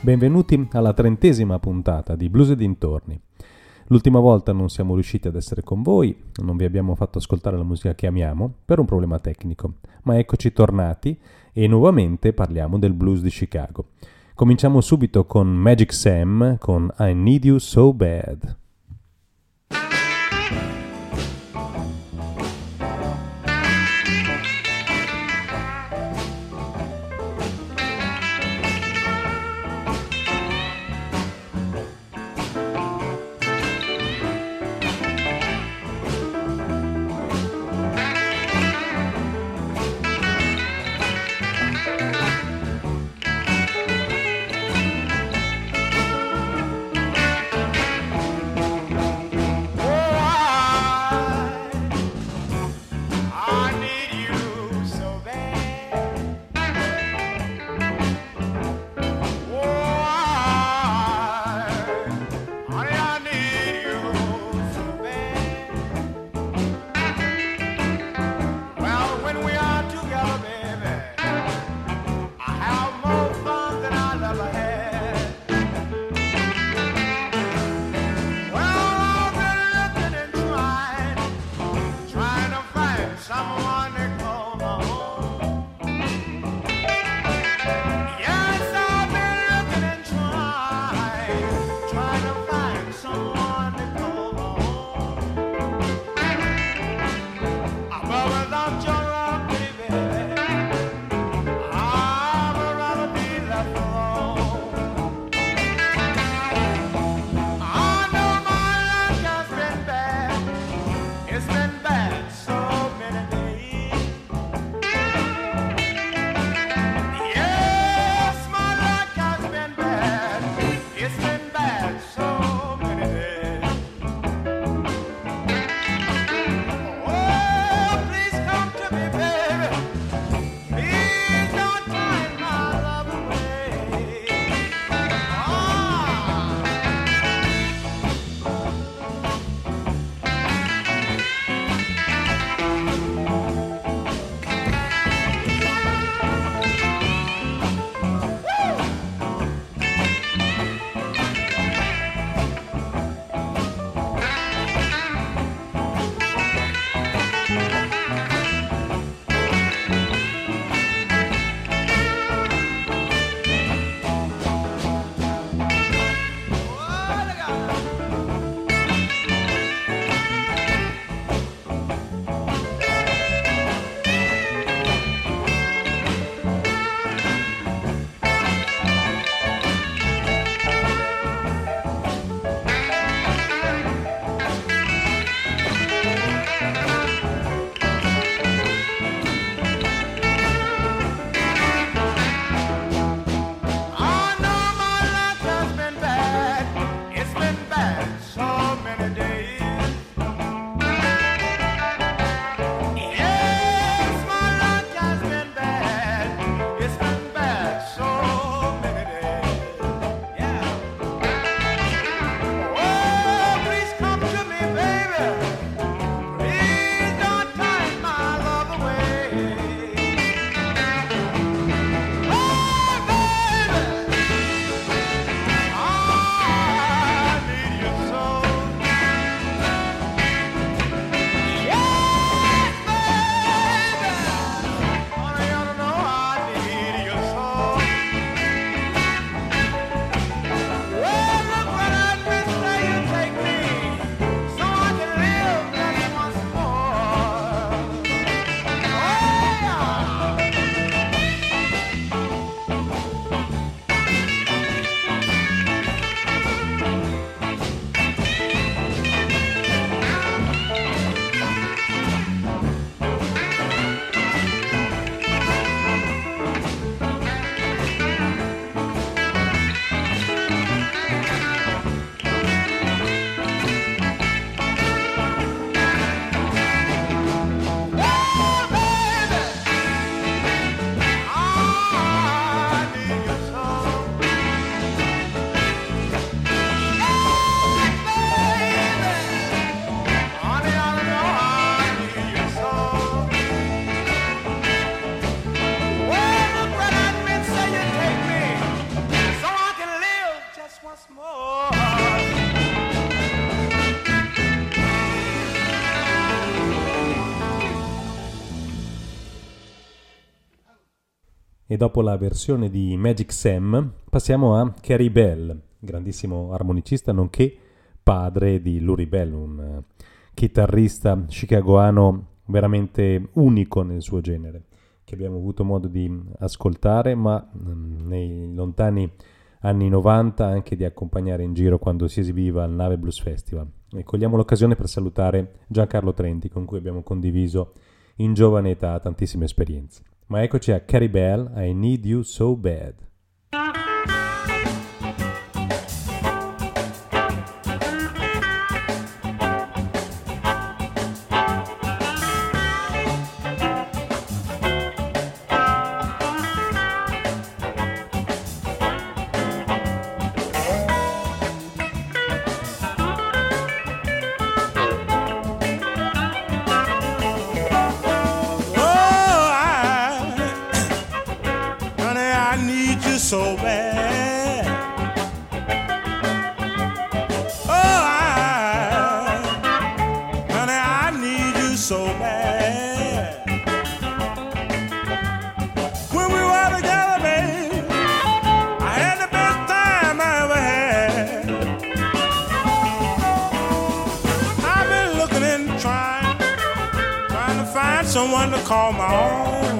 Benvenuti alla 30ª puntata di Blues e dintorni. L'ultima volta non siamo riusciti ad essere con voi, non vi abbiamo fatto ascoltare la musica che amiamo per un problema tecnico, ma eccoci tornati e nuovamente parliamo del blues di Chicago. Cominciamo subito con Magic Sam con I Need You So Bad. It's been bad so many days. E dopo la versione di Magic Sam passiamo a Carey Bell, grandissimo armonicista nonché padre di Luri Bell, un chitarrista chicagoano veramente unico nel suo genere, che abbiamo avuto modo di ascoltare, ma nei lontani anni 90 anche di accompagnare in giro quando si esibiva al Nave Blues Festival. E cogliamo l'occasione per salutare Giancarlo Trenti, con cui abbiamo condiviso in giovane età tantissime esperienze. Ma eccoci a Carey Bell, I Need You So Bad. So bad. Oh, honey, I need you so bad. When we were together, babe, I had the best time I ever had. I've been looking and trying to find someone to call my own.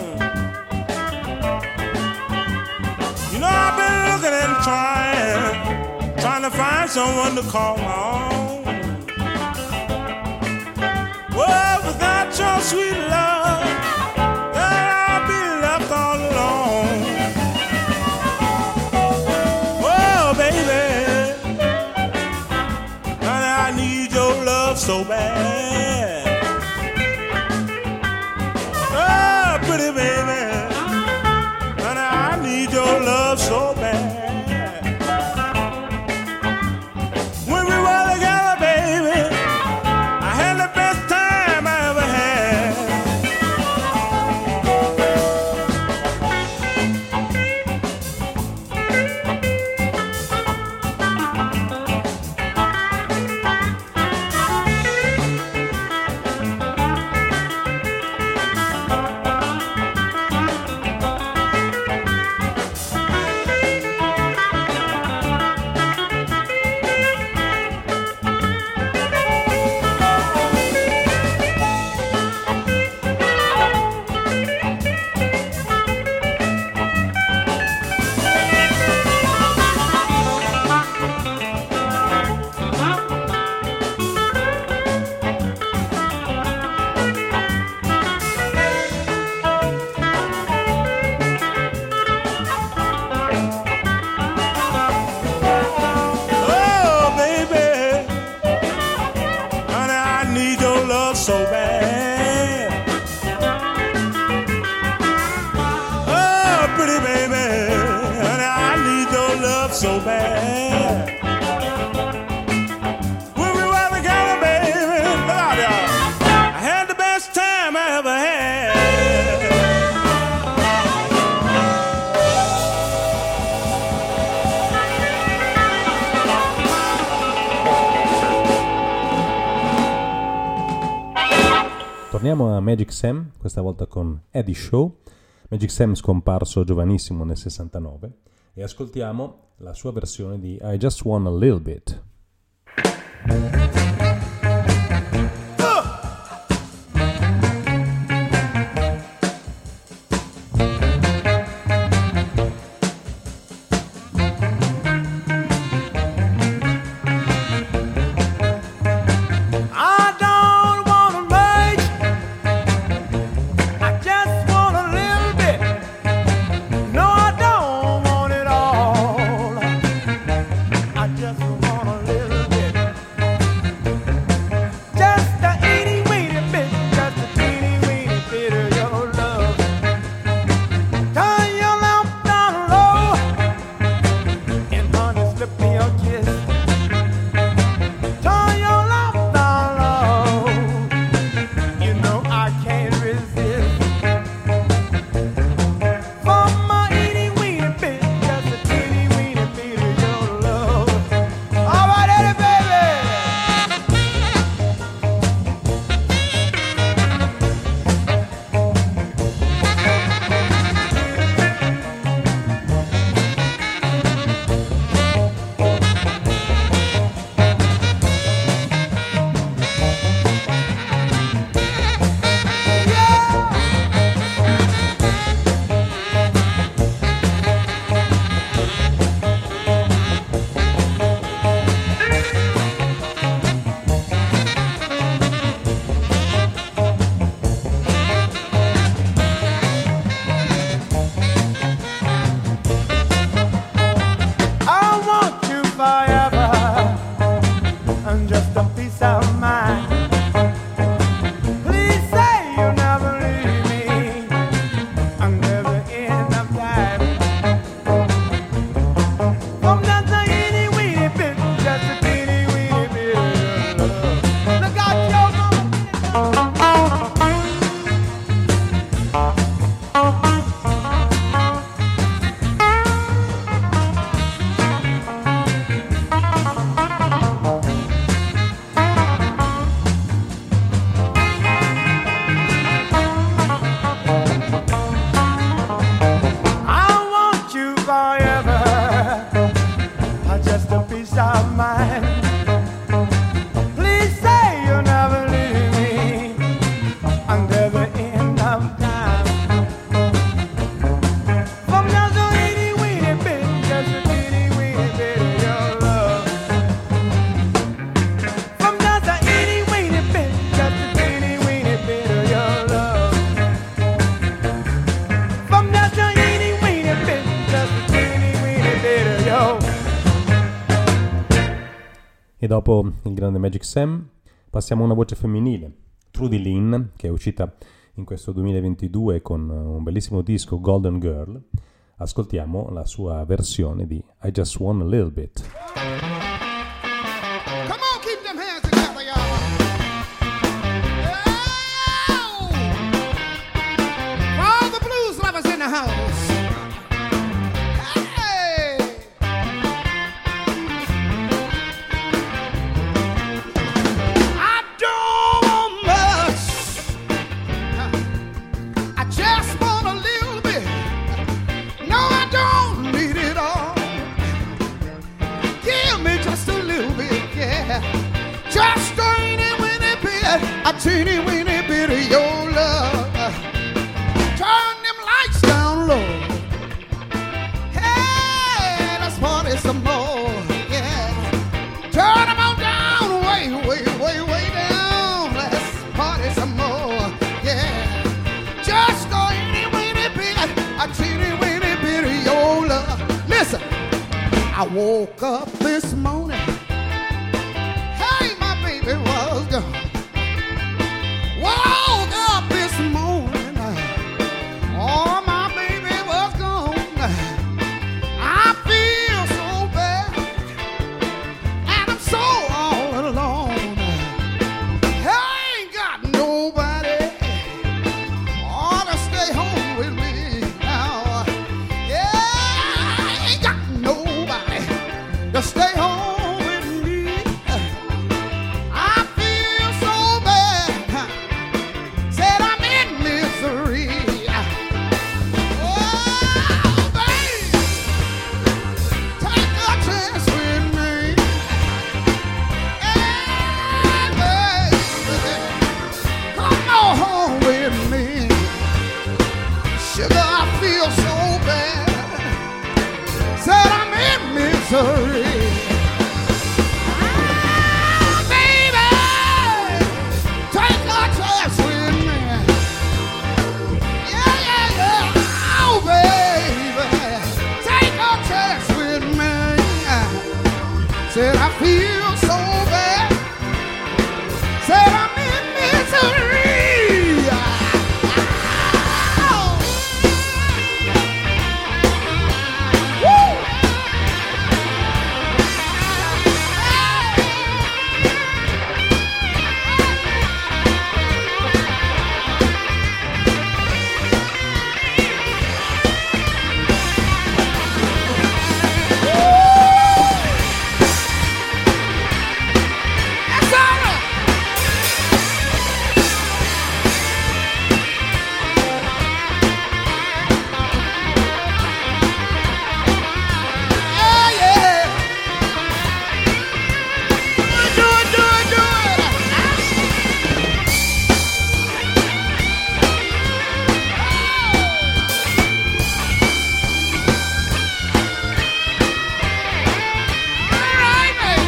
I've been looking and trying to find someone to call my own. Well, without your sweet love, I'll be left all alone. Oh, baby, honey, I need your love so bad. Oh, pretty baby, your love so bad. When we were together, baby, I had the best time I ever had. So bad. Oh, pretty baby, honey, I need your love so bad. When we were together, baby, look out, y'all, I had the best time I ever had. Torniamo a Magic Sam, questa volta con Eddie Shaw. Magic Sam scomparso giovanissimo nel 69 e ascoltiamo la sua versione di I Just Want a Little Bit. Just want a little bit. E dopo il grande Magic Sam passiamo a una voce femminile, Trudy Lynn, che è uscita in questo 2022 con un bellissimo disco, Golden Girl. Ascoltiamo la sua versione di I Just Want a Little Bit. Come on, keep them hands together, y'all. Oh! For all the blues lovers in the house. Hey! I don't want much. I just want a little bit. No, I don't need it all. Give me just a little bit, yeah. Just a teeny weeny bit of your love. Turn them lights down low. Hey, let's party some more, yeah. Turn them on down, way, way, way, way down. Let's party some more, yeah. Just a teeny weeny bit of your love. Listen, I woke up this morning. Hey, my baby was gone. Woke up this morning, oh, my baby was gone. I feel so bad, and I'm so all alone. I ain't got nobody ought to stay home with me now. Yeah, I ain't got nobody to stay home with me. I feel so bad. Said I'm in misery. Oh, babe, take a chance with me. Yeah, baby, come on home with me. Sugar, I feel so bad. Said I'm in misery. Ah, baby, take a chance with me. Yeah, yeah, yeah. Oh, baby, take a chance with me. Said I feel so bad. Said I'm in misery. Oh. Woo. That's all right. Yeah, yeah. Do it, do it, do it. All right, baby.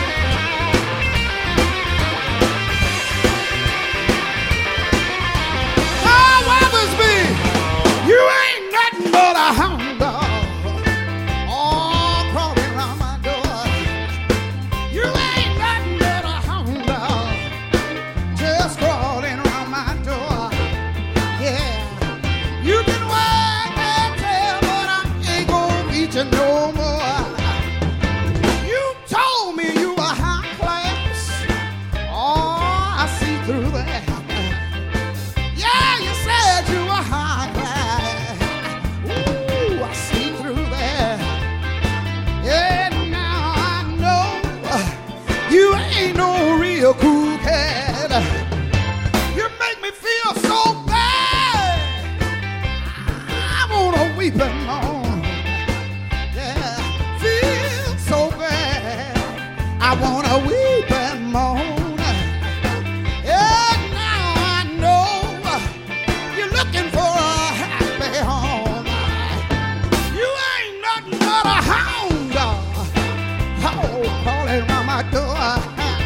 Oh, Weathersby, you ain't nothing but a hound dog. Oh, crawling around my door. You ain't nothing but a hound dog. Just crawling around my door. Yeah. You can wag that tail, but I ain't gonna beat you no more. You told me you were high class. Oh, I see through that. Yeah, you said you were high class. Ooh, I see through that. Yeah, now I know you ain't no real cool cat. You make me feel so bad. I wanna weep and moan. Yeah, feel so bad. I wanna weep and moan. Yeah, now I know you're looking for a happy home. You ain't nothing but a hound dog. Oh, crawling around my door.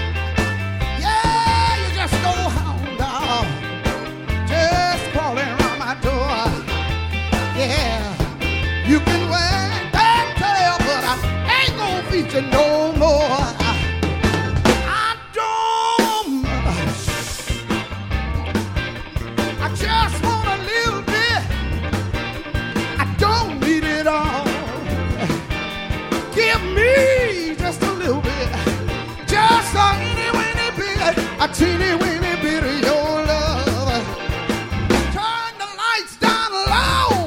Yeah, you just go hound dog. Just crawling around my door. Yeah, you can wag that tail, but I ain't gonna beat you no more. teeny weeny bit of your love. Turn the lights down low.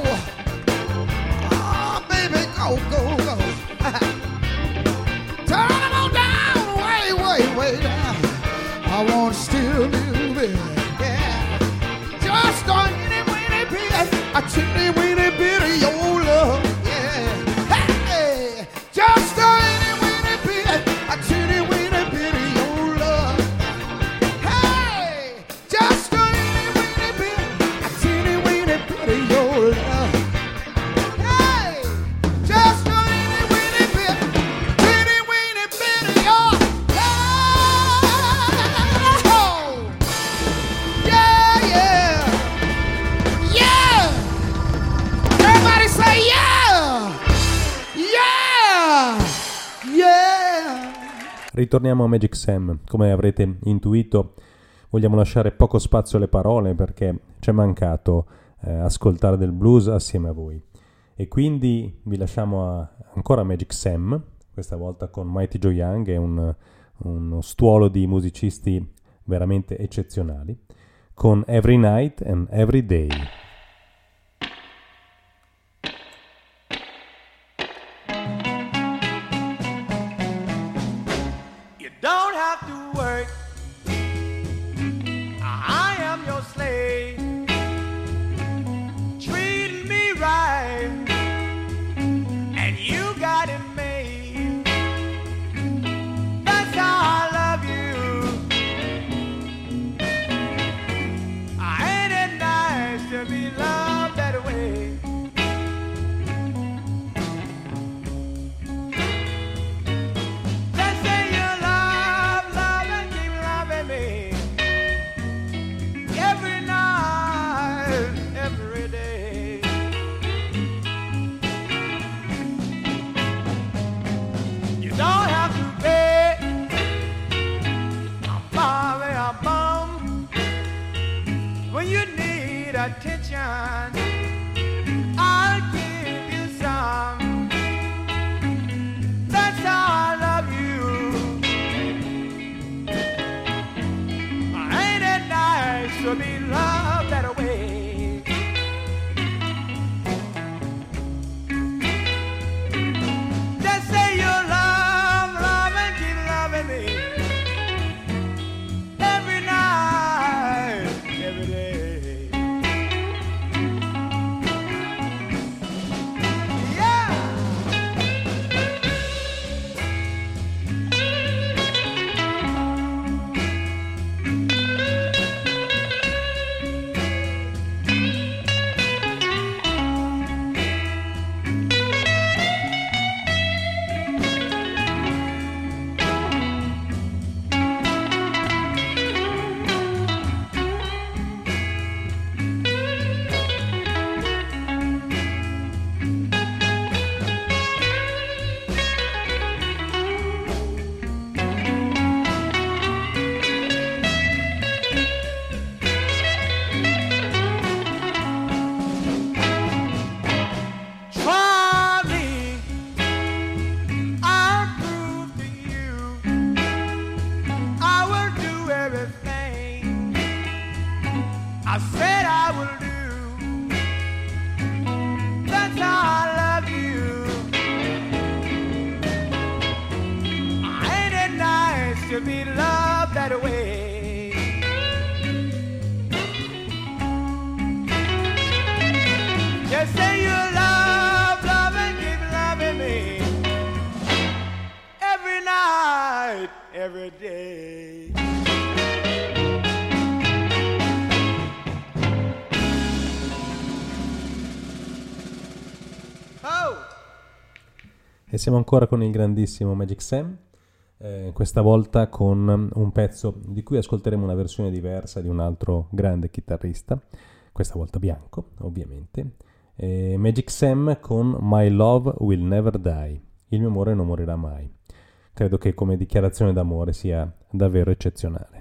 Oh, baby, go, go, go. Turn them on down, way, way, way down. I want still a little bit, yeah. Just a teeny weeny bit of your love, yeah. Hey, just a teeny weeny bit of your love. Hey, just a teeny weeny bit of your love. Hey, just a teeny weeny bit of your love. Yeah, yeah, yeah. Everybody say yeah, yeah, yeah. Ritorniamo a Magic Sam. Come avrete intuito, vogliamo lasciare poco spazio alle parole perché ci è mancato ascoltare del blues assieme a voi. E quindi vi lasciamo ancora a Magic Sam, questa volta con Mighty Joe Young e uno stuolo di musicisti veramente eccezionali, con Every Night and Every Day. You don't have to work. I am your slave. Treat me right, and you got it made. That's how I love you. Ain't it nice to be loved that way? Just say you love, love, and keep loving me. Every night, every day. You don't have to pay a bomb, a bum. When you need attention, I'll give you some. That's how I love you. Ain't it nice to be loved that way? Just say you love, love, and keep loving me. Every night, every day. Yeah. Try me, I'll prove to you I will do everything I said I will do. That's how I love you. Ain't it nice to be loved that way? Just say you love, love, and keep loving me. Every night, every day. Oh! E siamo ancora con il grandissimo Magic Sam, questa volta con un pezzo di cui ascolteremo una versione diversa di un altro grande chitarrista, questa volta bianco, ovviamente. Magic Sam con My Love Will Never Die, il mio amore non morirà mai. Credo che come dichiarazione d'amore sia davvero eccezionale.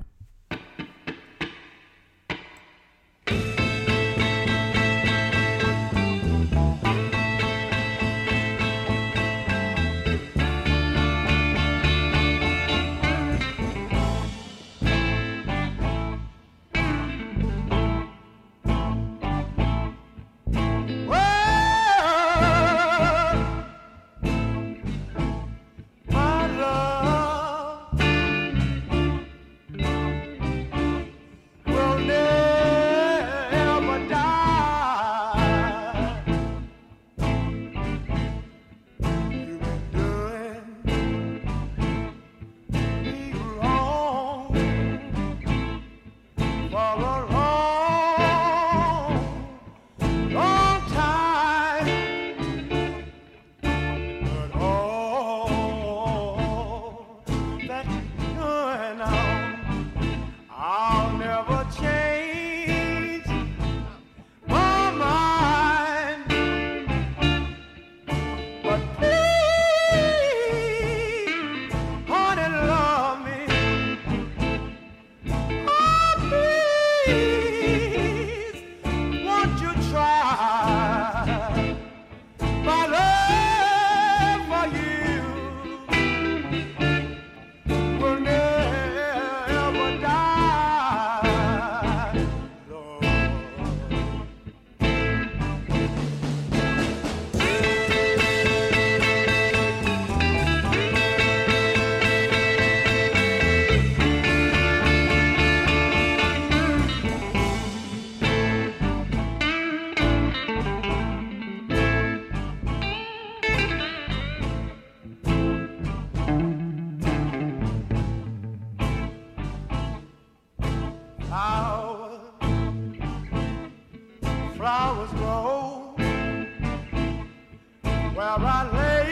where I lay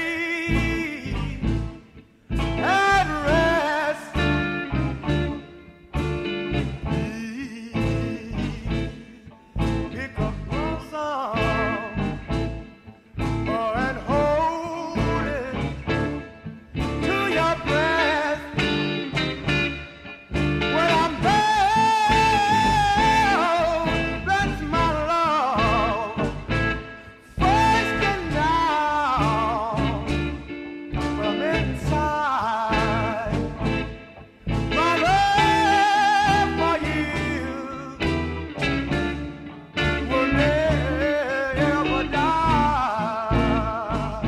and rest. Pick up your song, oh, and hold it to your breast. When I'm down, that's my love. First and down, from inside, my love for you will never die.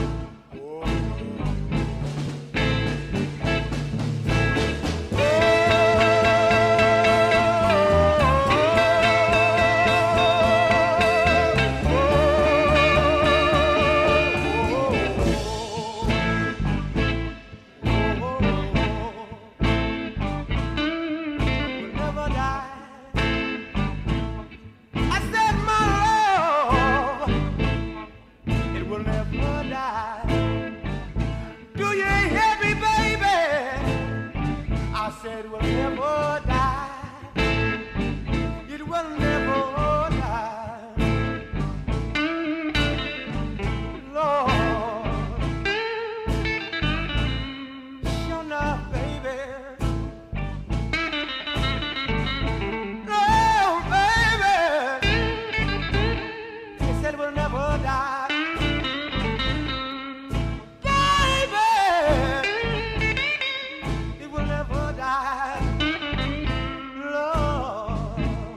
Never die. I said my love, it will never die. Do you hear me, baby? I said it will never die. It will never die. Lord, sure enough, baby. Oh, baby, he said it will never die. Baby, it will never die. Lord.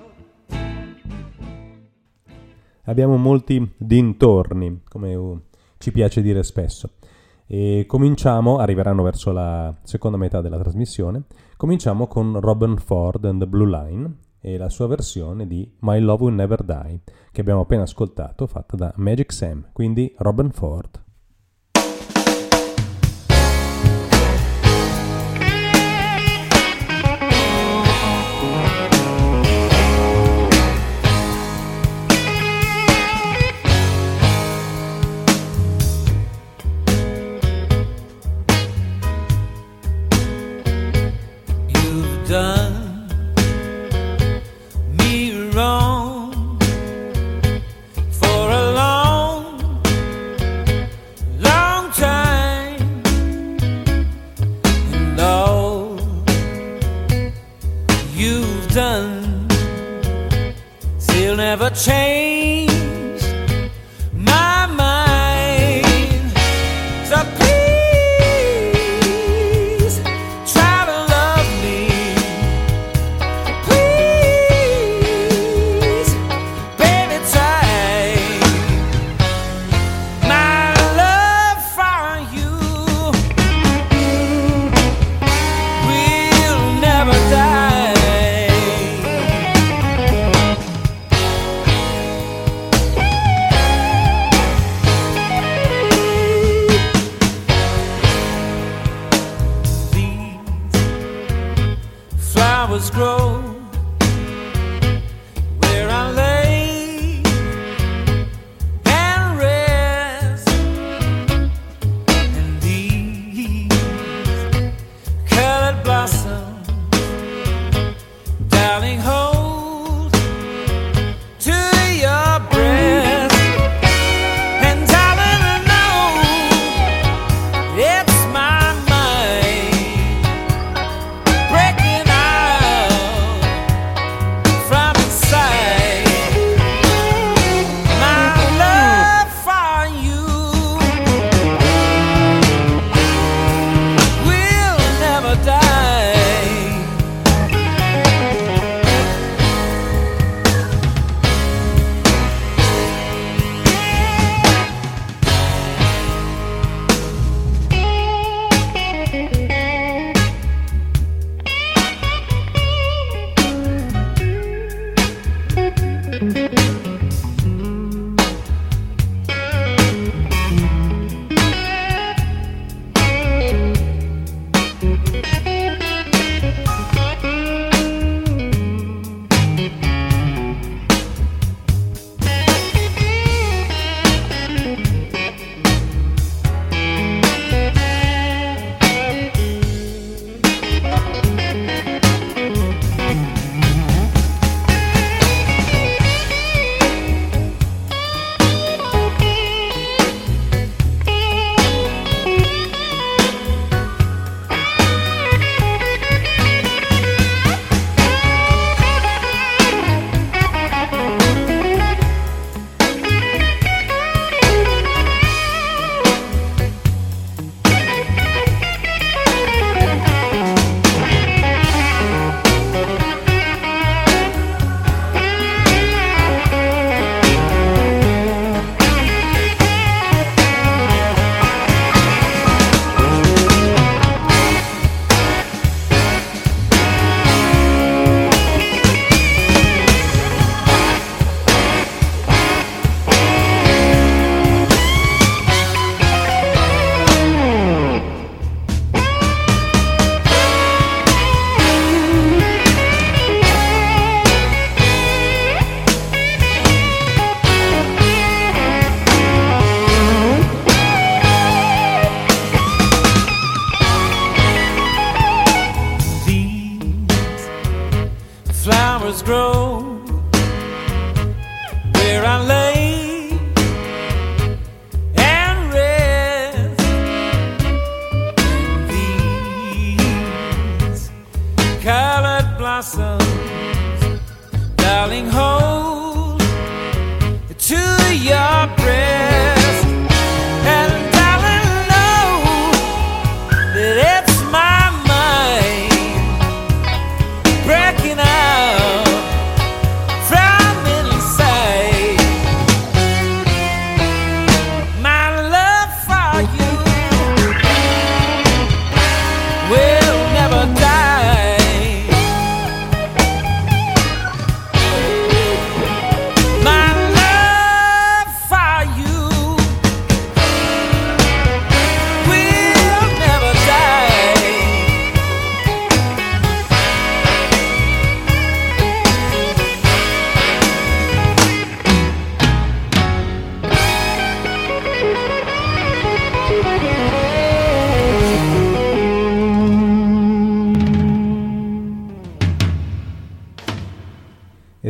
Abbiamo molti dintorni, come ci piace dire spesso. E cominciamo, arriveranno verso la seconda metà della trasmissione, cominciamo con Robin Ford and the Blue Line e la sua versione di My Love Will Never Die, che abbiamo appena ascoltato, fatta da Magic Sam, quindi Robin Ford. You've done me wrong for a long, long time, and all you've done still never changed my mind. So please try to love me. Please, baby, try. My love for you will never die.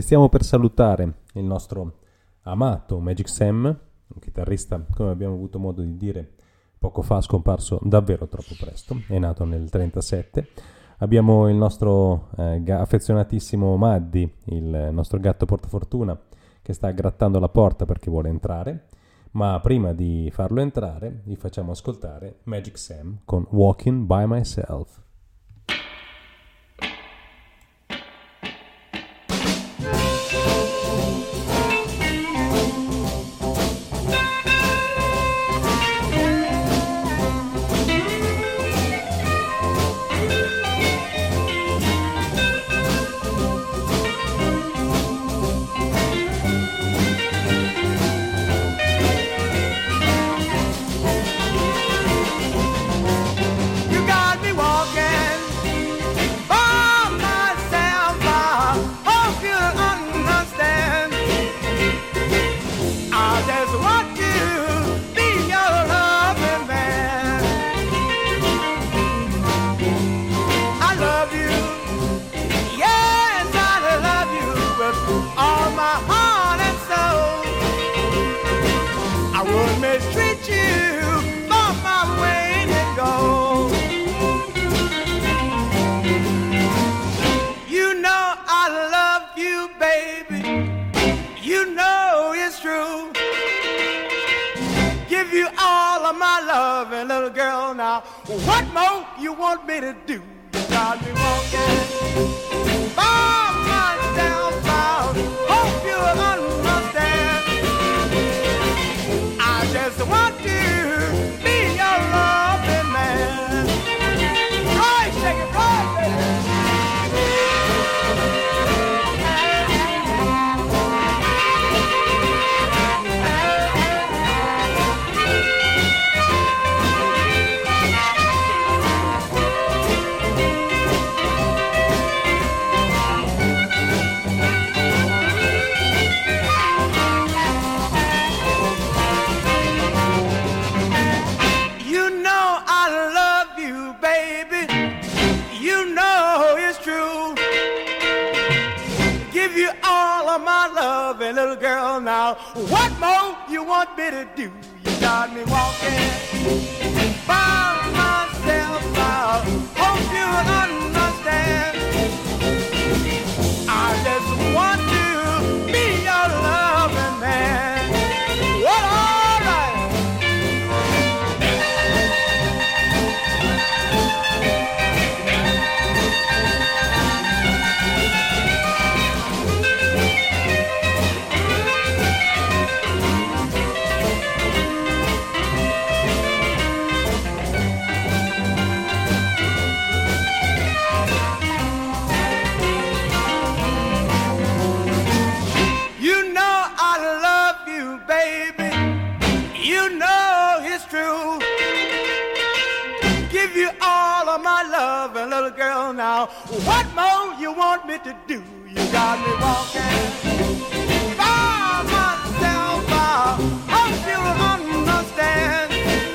stiamo per salutare il nostro amato Magic Sam, un chitarrista, come abbiamo avuto modo di dire poco fa, scomparso davvero troppo presto, è nato nel 1937. Abbiamo il nostro affezionatissimo Maddy, il nostro gatto portafortuna, che sta grattando la porta perché vuole entrare, ma prima di farlo entrare vi facciamo ascoltare Magic Sam con Walking by Myself. Little girl, now what more you want me to do? You got me walking by myself. I hope you understand. I just want to be your loving man. Right, shake it, right, baby. Little girl, now what more you want me to do? You got me walking by myself. I hope you understand. I just want to be your loving man. Well, all right. Little girl, now what more you want me to do? You got me walking by myself. I hope you understand.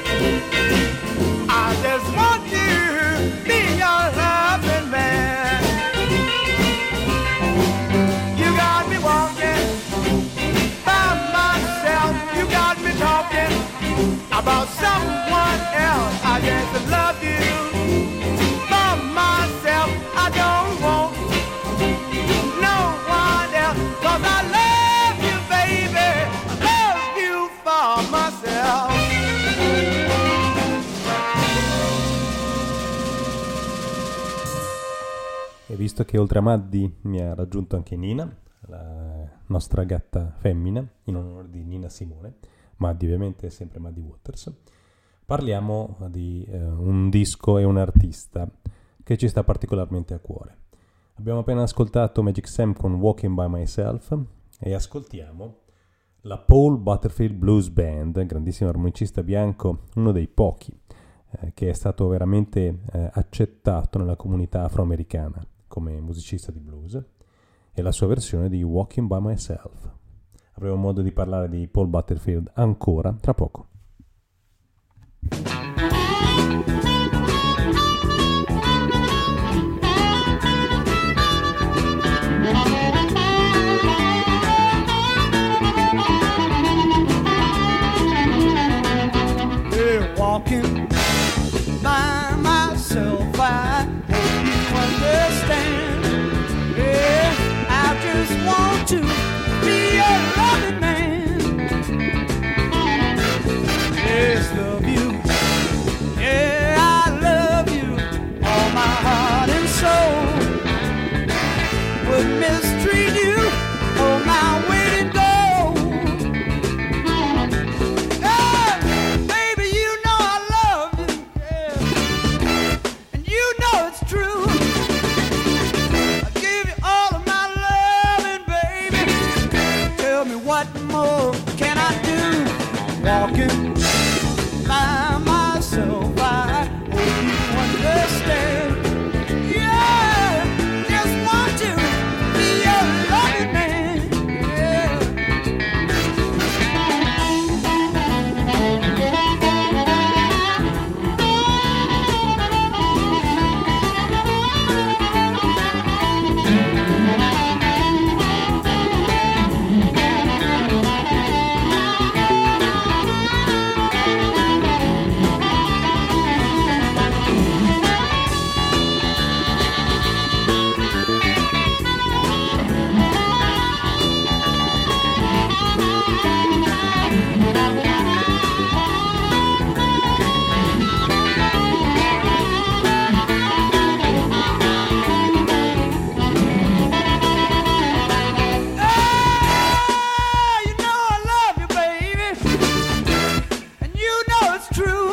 I just want to be your loving man. You got me walking by myself. You got me talking about someone else. I just love you. Myself, I don't want no one else, 'cause I love you, baby, I love you for myself. E visto che oltre a Maddy mi ha raggiunto anche Nina, la nostra gatta femmina, in onore di Nina Simone, Maddy ovviamente è sempre Maddy Waters, parliamo di un disco e un artista che ci sta particolarmente a cuore. Abbiamo appena ascoltato Magic Sam con Walking by Myself e ascoltiamo la Paul Butterfield Blues Band, grandissimo armonicista bianco, uno dei pochi che è stato veramente accettato nella comunità afroamericana come musicista di blues, e la sua versione di Walking by Myself. Avremo modo di parlare di Paul Butterfield ancora tra poco. walking by myself. I hope you understand. Yeah, I just want to be a loving man. Yes, love you. Yeah, I love you, all my heart and soul. Would mistreat you, oh my way to go. Hey, baby, you know I love you, yeah, and you know it's true. I give you all of my loving, baby. Tell me what more can I do? Walking by myself, I hope you understand. Yeah, just want to be a loving man. Yeah. You know I love you, baby, and you know it's true.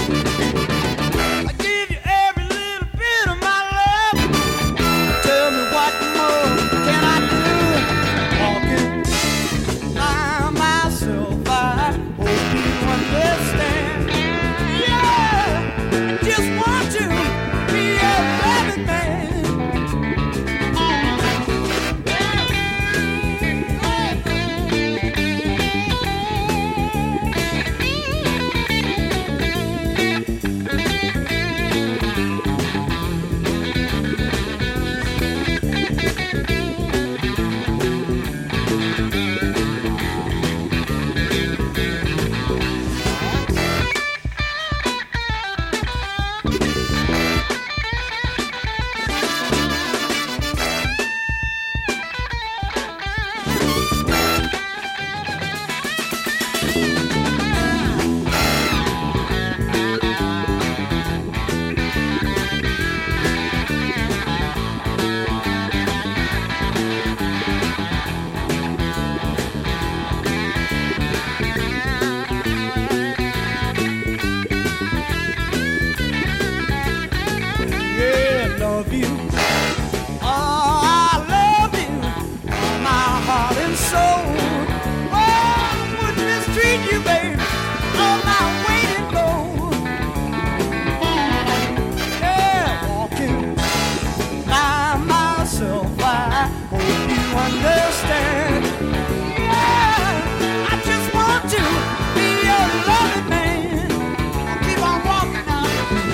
I give you every little bit of my love. Tell me what more can I do? Walking by myself, I hope you understand. Yeah, just want to be a loving man. Yeah, love you. Oh, I love you, all my heart and soul. Oh, I wouldn't mistreat you, baby, on my way to go. Yeah, walking by myself, I hope you understand. Yeah, I just want to be a loving man. Keep on walking now.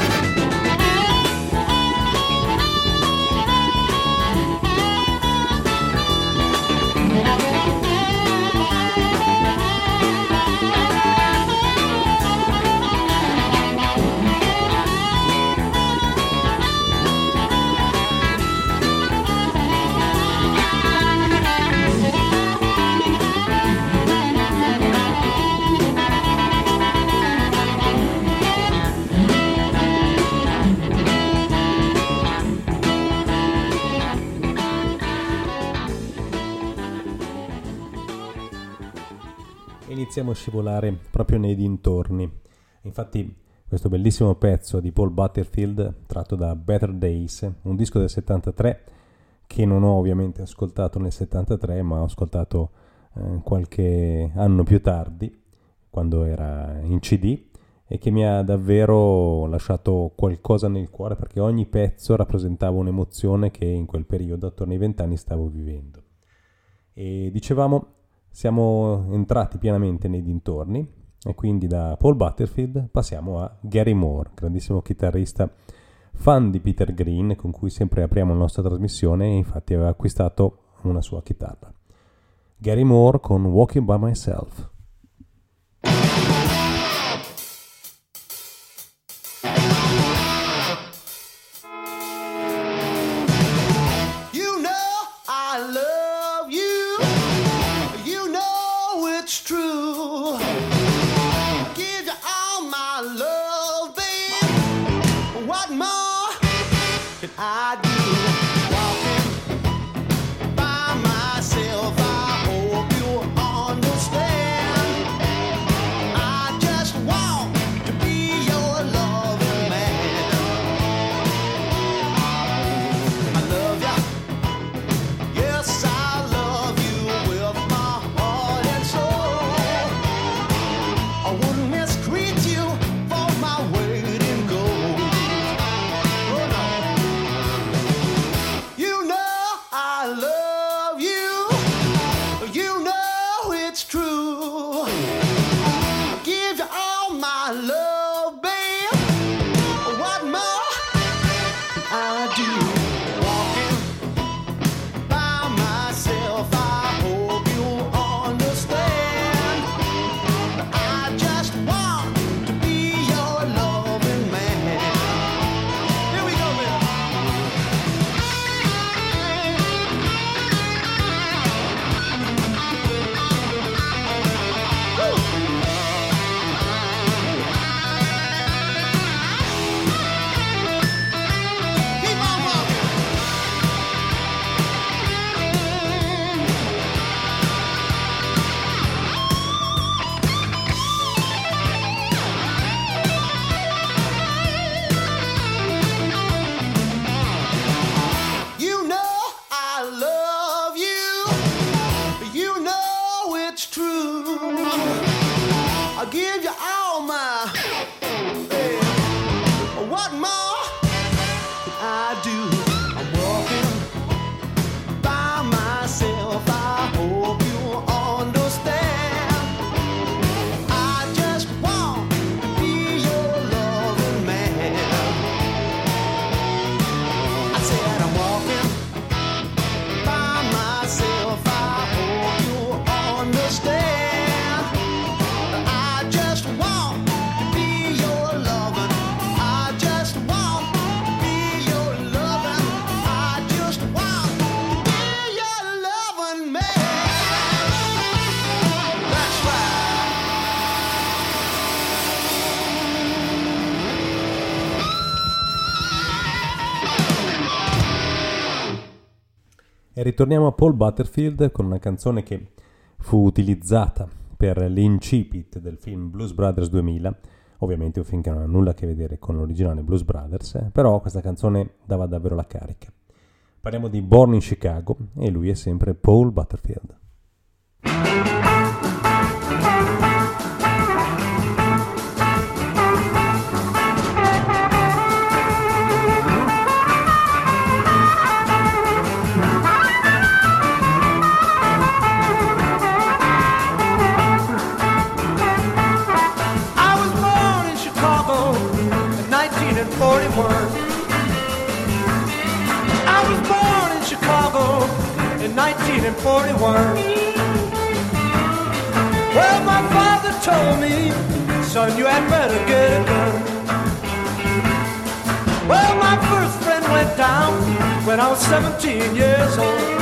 Iniziamo a scivolare proprio nei dintorni. Infatti questo bellissimo pezzo di Paul Butterfield, tratto da Better Days, un disco del 73 che non ho ovviamente ascoltato nel 73, ma ho ascoltato qualche anno più tardi, quando era in CD, e che mi ha davvero lasciato qualcosa nel cuore, perché ogni pezzo rappresentava un'emozione che in quel periodo, attorno ai 20 anni, stavo vivendo. E dicevamo, siamo entrati pienamente nei dintorni, e quindi da Paul Butterfield passiamo a Gary Moore, grandissimo chitarrista, fan di Peter Green, con cui sempre apriamo la nostra trasmissione, e infatti aveva acquistato una sua chitarra. Gary Moore con Walking by Myself. give you all my. Hey, what more can I do? I'm walking by myself. I hope you understand. I just want to be your loving man. I said I'm walking by myself. I hope you understand. I just want to be your loving. I just want to be your loving. I just want to be your loving man. That's right. E ritorniamo a Paul Butterfield con una canzone che fu utilizzata per l'incipit del film Blues Brothers 2000, ovviamente un film che non ha nulla a che vedere con l'originale Blues Brothers, però questa canzone dava davvero la carica. Parliamo di Born in Chicago e lui è sempre Paul Butterfield. I was born in Chicago in 1941. I was born in Chicago in 1941. Well, my father told me, son, you had better get a gun. Well, my first friend went down when I was 17 years old.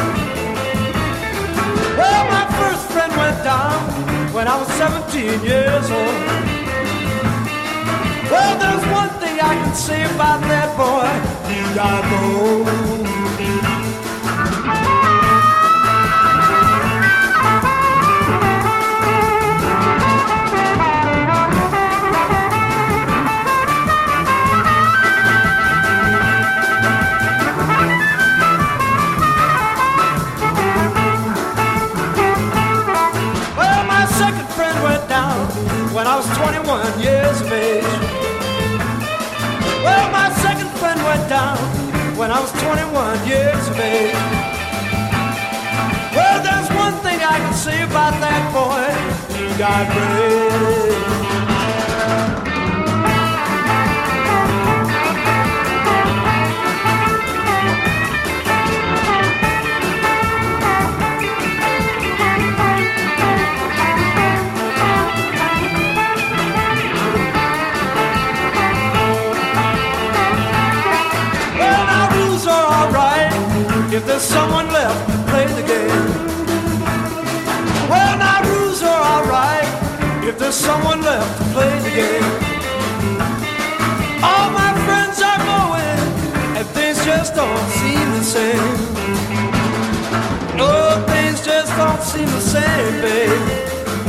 Well, my first friend went down when I was 17 years old. Well, there's one thing I can say about that boy. He got gold. Well, my second friend went down when I was 21 years of age. Well, my second friend went down when I was 21 years of age. Well, there's one thing I can say about that boy. He got brave. Well, now rules are alright if there's someone left to play the game. Well, now rules are alright if there's someone left to play the game. All my friends are going and things just don't seem the same. No, things just don't seem the same, babe.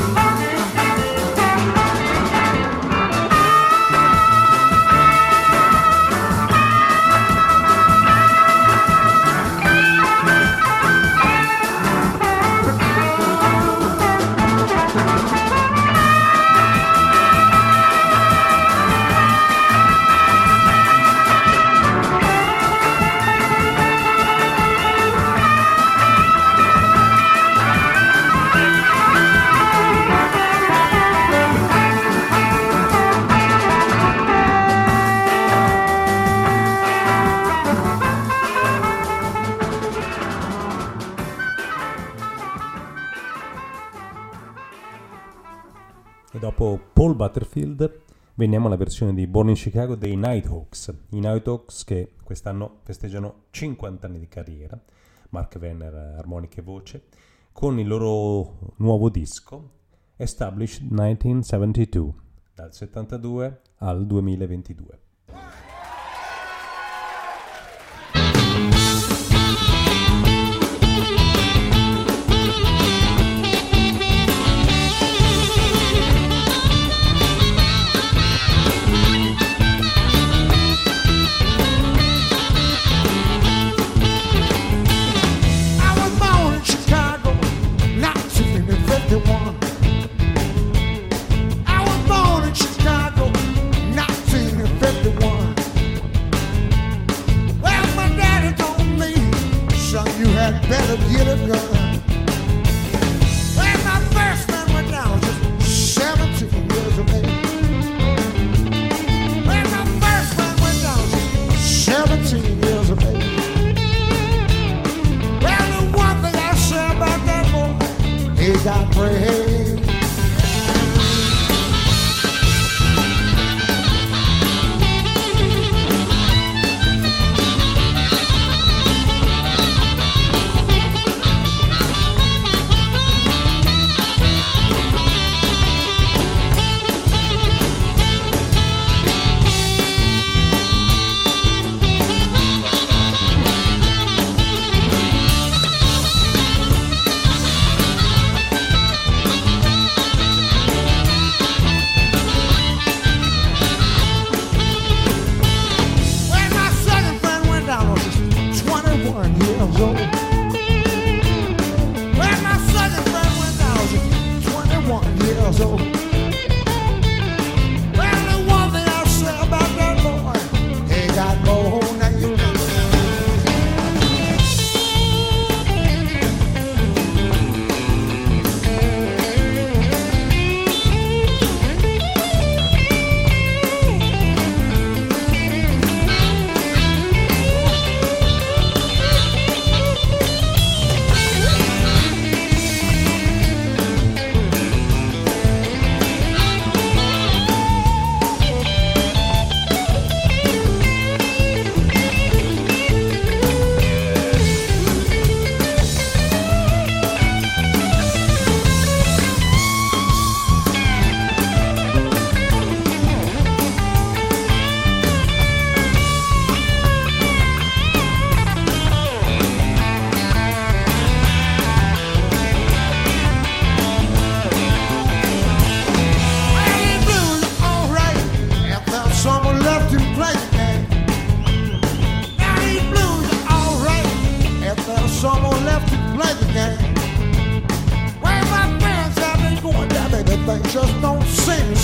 E dopo Paul Butterfield veniamo alla versione di Born in Chicago dei Nighthawks. I Nighthawks che quest'anno festeggiano 50 anni di carriera, Mark Venner armonica e voce, con il loro nuovo disco Established 1972, dal 72 al 2022. I was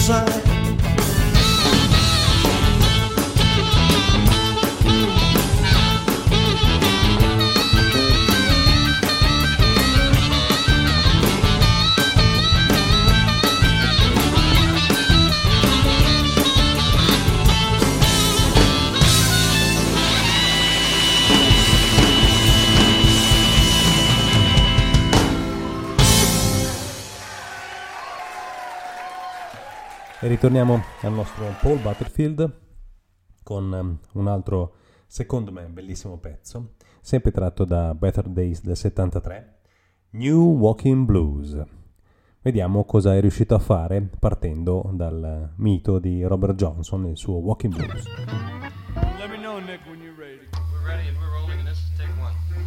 side. E ritorniamo al nostro Paul Butterfield con un altro, secondo me, bellissimo pezzo, sempre tratto da Better Days del 73, New Walking Blues. Vediamo cosa è riuscito a fare partendo dal mito di Robert Johnson e il suo Walking Blues. Let me know, Nick, when you're ready. We're ready and we're rolling, and this is take one.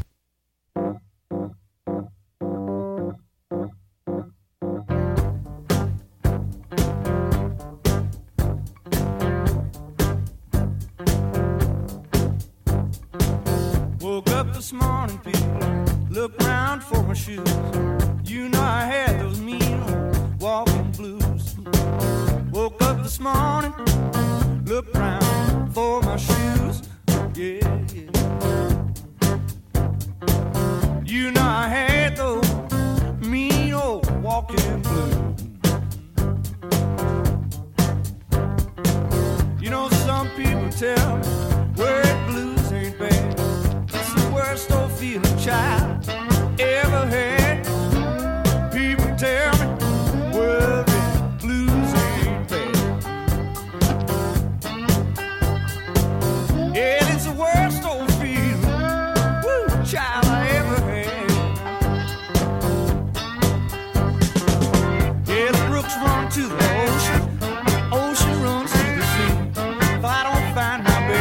Woke up this morning, people, looked round for my shoes. You know I had those mean old walking blues. Woke up this morning, looked round for my shoes. Yeah, yeah. You know I had those mean old walking blues. You know some people tell me word blues ain't bad. It's the worst old feeling child ever had. People tell me word blues ain't bad. Yeah, it's the worst old feeling, woo, child I ever had. Yeah, the brooks run to the ocean, the ocean runs to the sea. If I don't find my baby,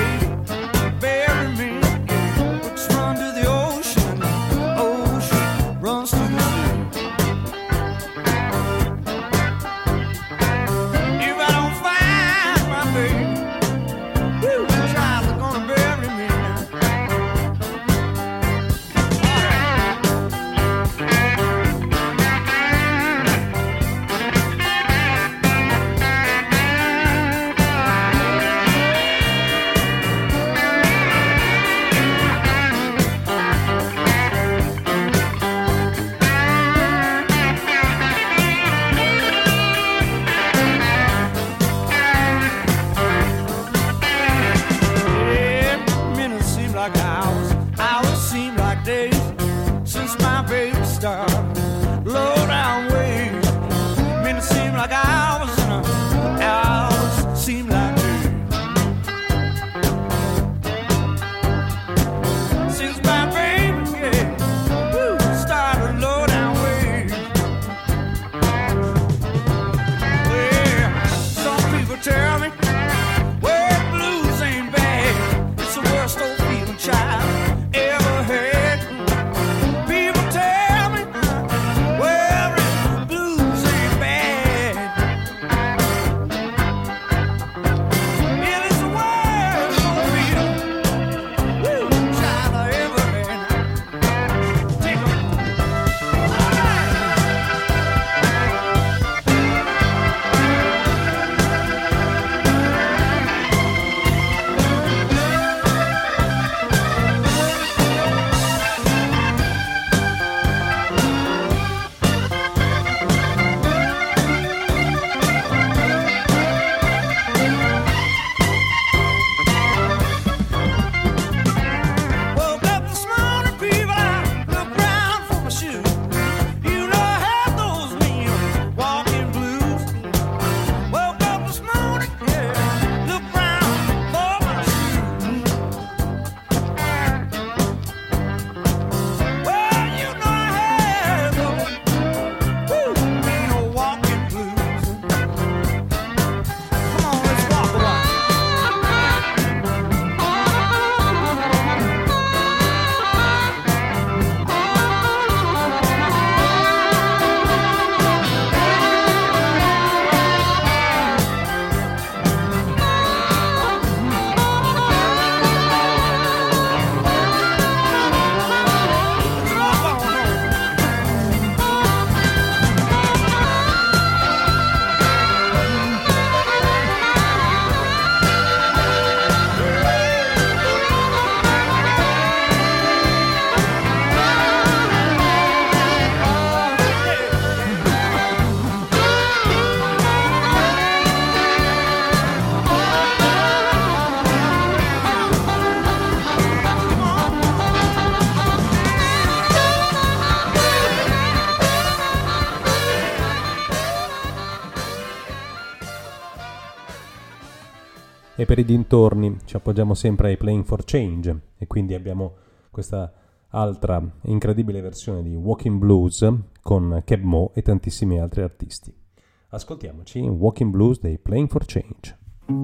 E per i dintorni ci appoggiamo sempre ai Playing for Change e quindi abbiamo questa altra incredibile versione di Walking Blues con Keb Mo e tantissimi altri artisti. Ascoltiamoci Walking Blues dei Playing for Change.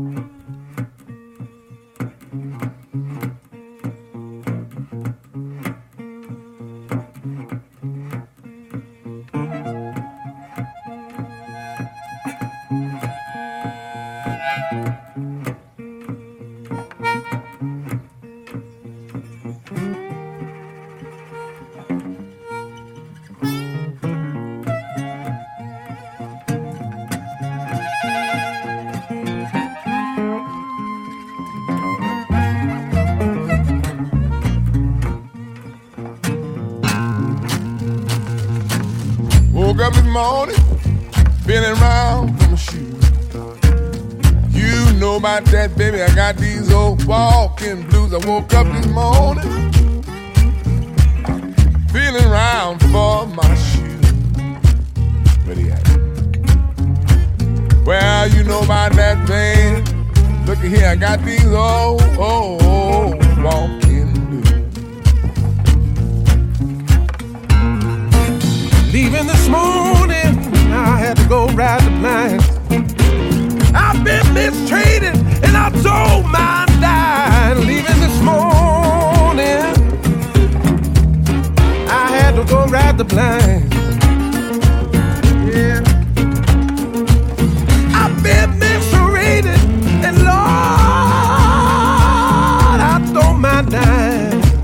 Woke up this morning, feeling round for my shoes. You know about that, baby. I got these old walking blues. I woke up this morning, feeling round for my shoes. Where they at? Well, you know about that, man. Look at here, I got these old walking blues. Leaving this morning, I had to go ride the blind. I've been mistreated and I told my die. Leaving this morning, I had to go ride the blind. Yeah, I've been mistreated and Lord, I told my die.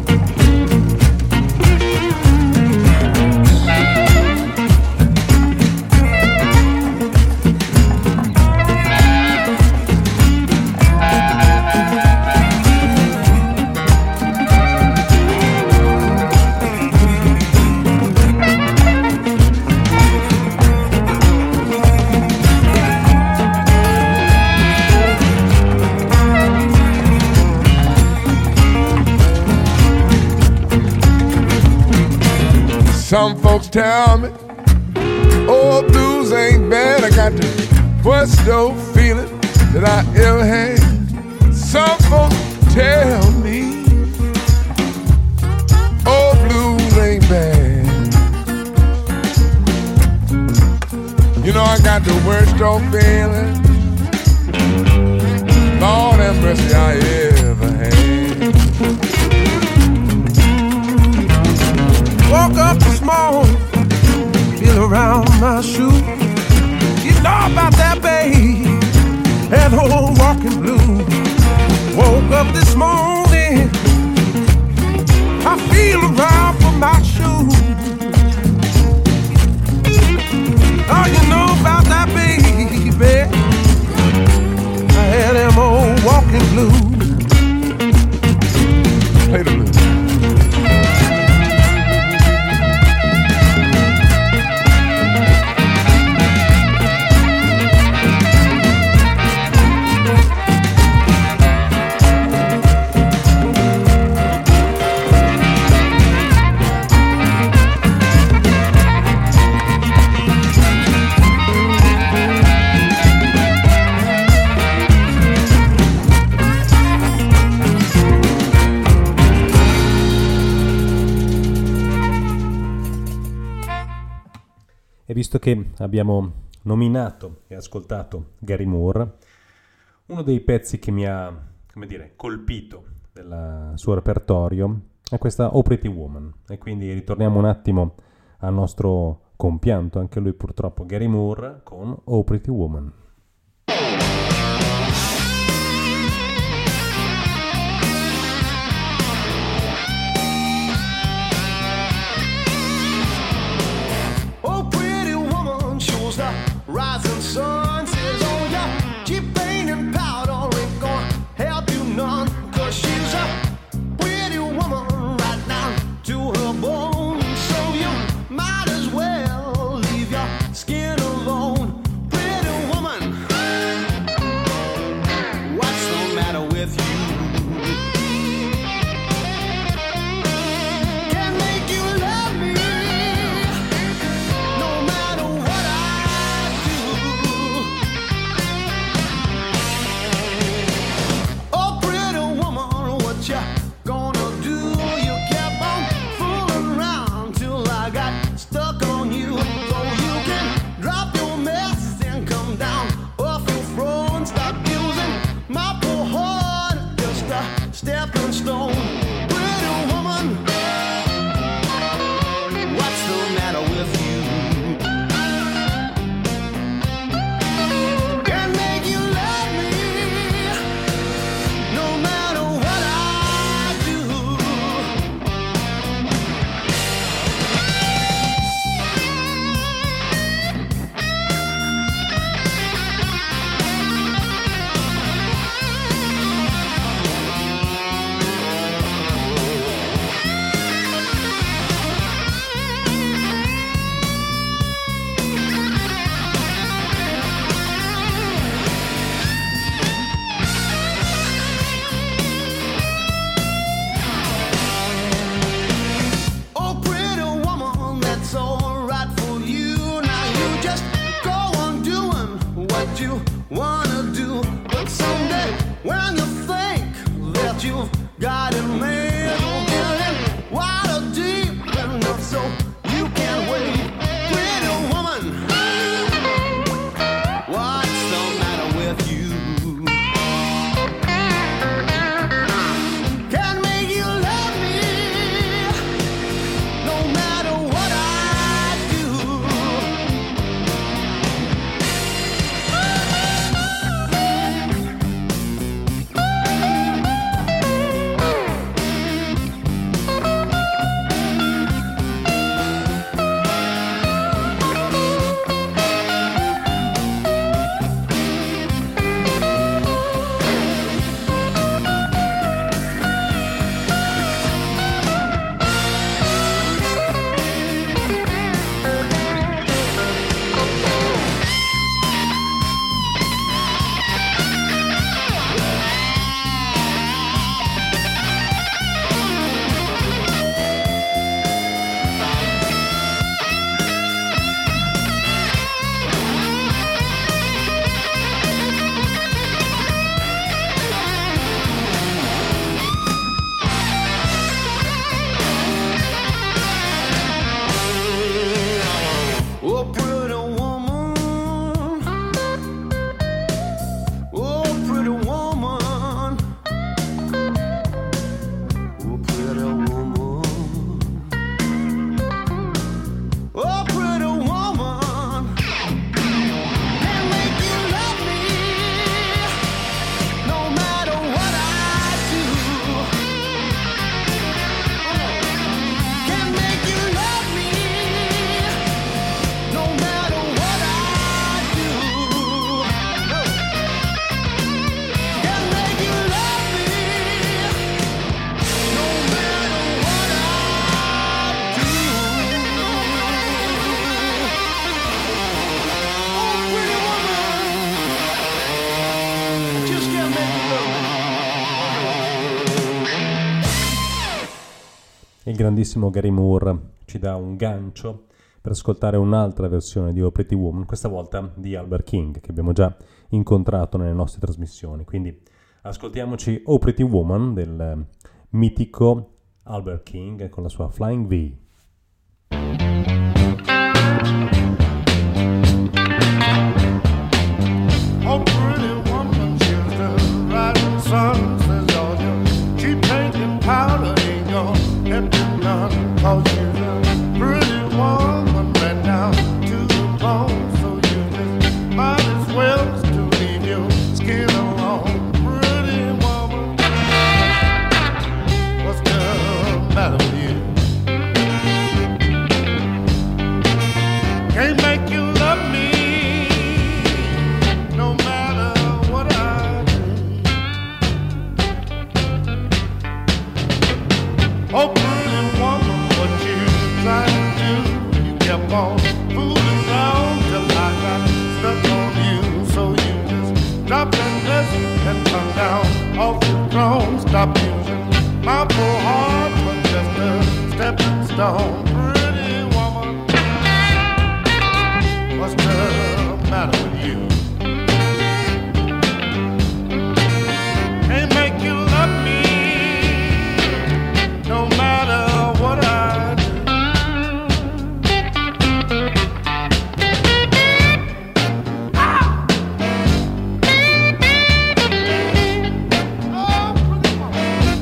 Some folks tell me, oh, blues ain't bad. I got the worst old feeling that I ever had. Some folks tell me, oh, blues ain't bad. You know I got the worst old feeling, Lord have mercy, I ever had. Woke up this morning, feel around my shoe. You know about that, babe, that old walking blue. Woke up this morning, I feel around for my shoe. Oh, you know about that, baby, I had them old walking blue. Play the blues. E visto che abbiamo nominato e ascoltato Gary Moore, uno dei pezzi che mi ha, come dire, colpito del suo repertorio è questa Oh Pretty Woman. E quindi ritorniamo un attimo al nostro compianto, anche lui purtroppo, Gary Moore, con Oh Pretty Woman. Rising sun says, oh yeah, keep painting powder ain't gonna help you none. Cause she's a pretty woman right now to her bone. So you might as well leave your skin alone. Pretty woman, il grandissimo Gary Moore ci dà un gancio per ascoltare un'altra versione di Oh Pretty Woman, questa volta di Albert King, che abbiamo già incontrato nelle nostre trasmissioni. Quindi ascoltiamoci Oh Pretty Woman del mitico Albert King con la sua Flying V. Oh, pretty woman, she's the rising sun, says all your cheap paint and powder ain't gonna help you none, 'cause she's a pretty woman right down to the bone, so you just might as well to leave your skin alone. Pretty woman, what's the matter with you? Can't make you love me no matter what I do. Oh, pretty woman, what you trying to do? You kept on fooling around till I got stuck on you. So you just drop that dress and come down off your throne. Stop using my poor heart for just a stepping stone. Pretty woman, what's the matter with you? Can't make you love me no matter what I do. Oh, pretty woman.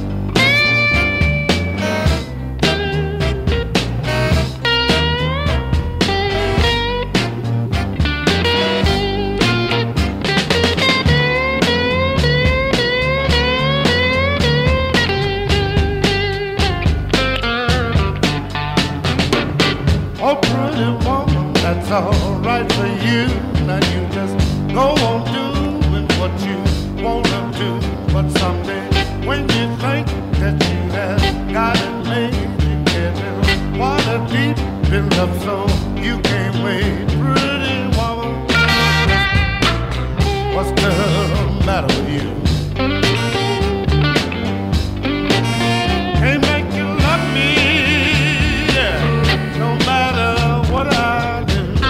Oh, pretty woman, that's all right for you. Now you just go on doing what you wanna do. But someday, when you think that you have got it made, you get in water deep, build up so you can't wait. Pretty woman, what's the matter with you? Can't make you love me, yeah, no matter what I do.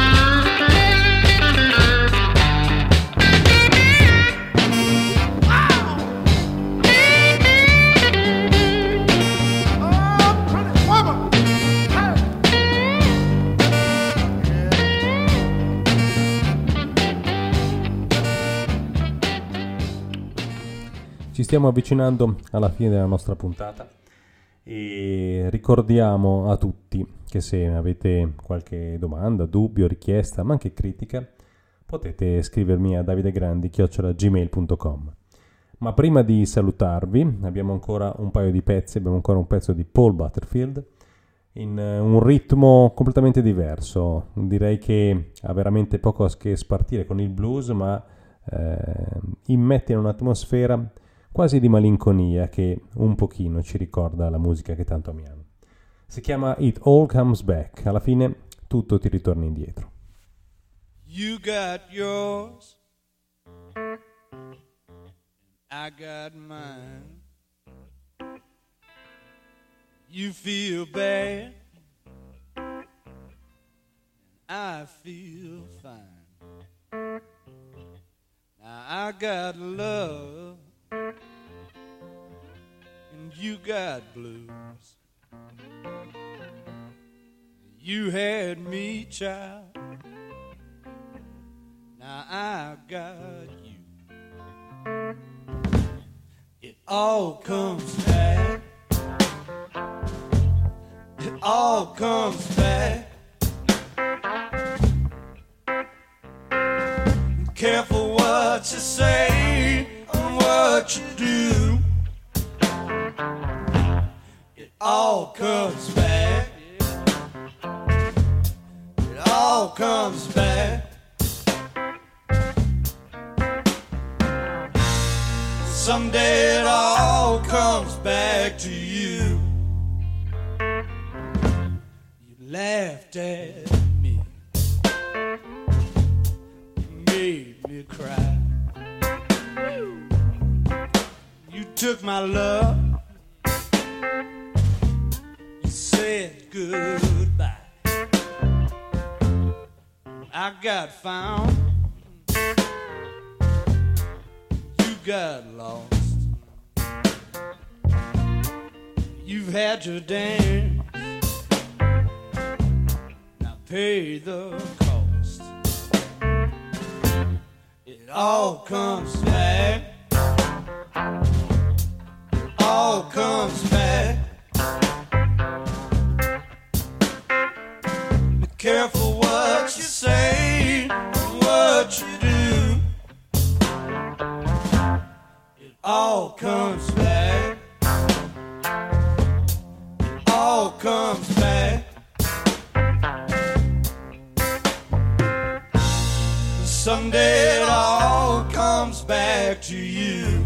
Oh, pretty woman. Hey. Ci stiamo avvicinando alla fine della nostra puntata e ricordiamo a tutti che se avete qualche domanda, dubbio, richiesta, ma anche critica, potete scrivermi a davidegrandi@gmail.com. Ma prima di salutarvi abbiamo ancora un paio di pezzi, abbiamo ancora un pezzo di Paul Butterfield in un ritmo completamente diverso. Direi che ha veramente poco a che spartire con il blues, ma immette in un'atmosfera quasi di malinconia che un pochino ci ricorda la musica che tanto amiamo. Si chiama It All Comes Back, alla fine tutto ti ritorna indietro. You got yours, I got mine. You feel bad, I feel fine. Now I got love, and you got blues. You had me, child, now I got you. It all comes back, it all comes back. Careful what you say and what you do. It all comes back, it all comes back. Someday it all comes back to you. You laughed at me, you made me cry. You took my love, you goodbye. I got found, you got lost. You've had your dance, now pay the cost. It all comes back, all comes back. Be careful what you say, what you do. It all comes back, it all comes back. Someday it all comes back to you.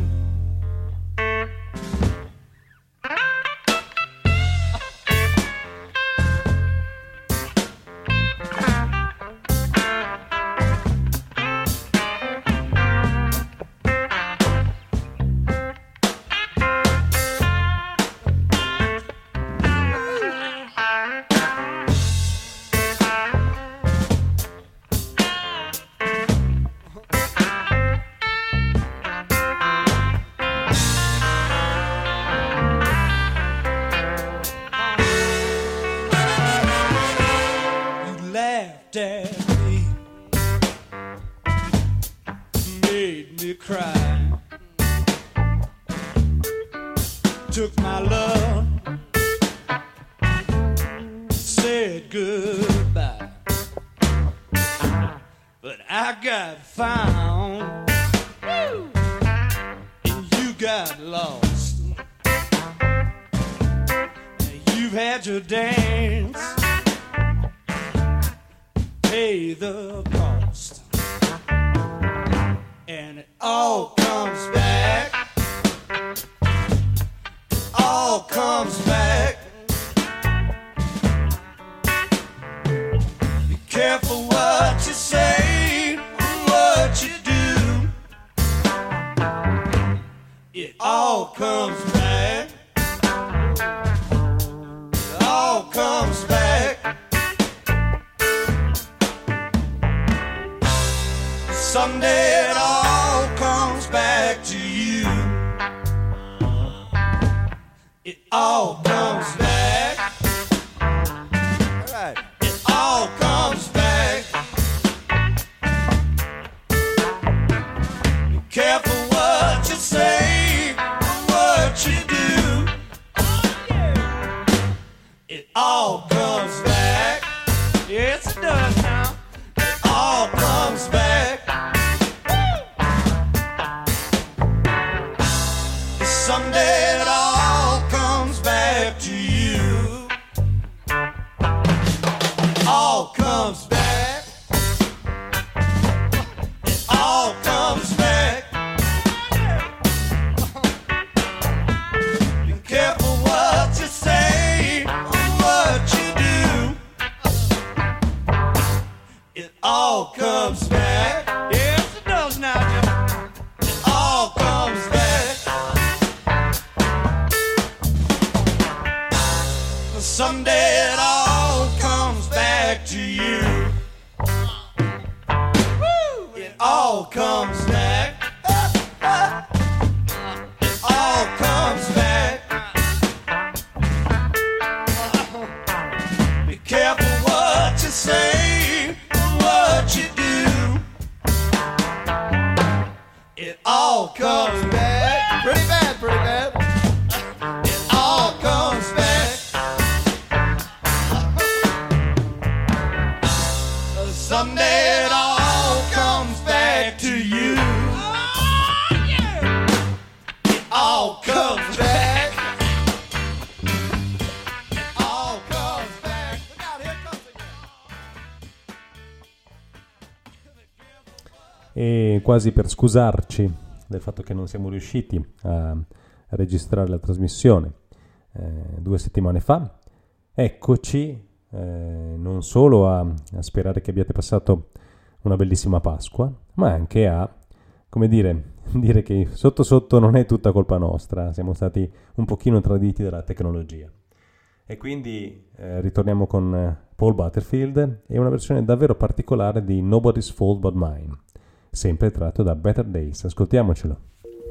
Took my love, said goodbye, but I got found, and you got lost. You've had your dance, pay the cost, and it all comes back. All comes back. Be careful what you say, what you do. It all comes back. It all comes back. Someday it all comes back to you. It all comes back. All right. It all comes back. Be careful what you say, what you do. It all comes back. Yes, it does now. It all comes back. Someday it all comes back to you. All comes back. It all comes back. Be careful what you say, what you do. It all comes back. Yes, it does now, Jim. It all comes back. Someday it all comes back to you. It all comes back. It all comes back. Be careful what you say, what you do. It all comes back. Pretty bad, pretty bad. It all comes back. Someday it all comes back to you. It all comes back. It all comes back. Look out, here it comes again. E quasi per scusarci del fatto che non siamo riusciti a registrare la trasmissione 2 settimane fa, eccoci. Non solo a sperare che abbiate passato una bellissima Pasqua, ma anche a, come dire che sotto sotto non è tutta colpa nostra, siamo stati un pochino traditi dalla tecnologia. E quindi ritorniamo con Paul Butterfield e una versione davvero particolare di Nobody's Fault But Mine, sempre tratto da Better Days. Ascoltiamocelo.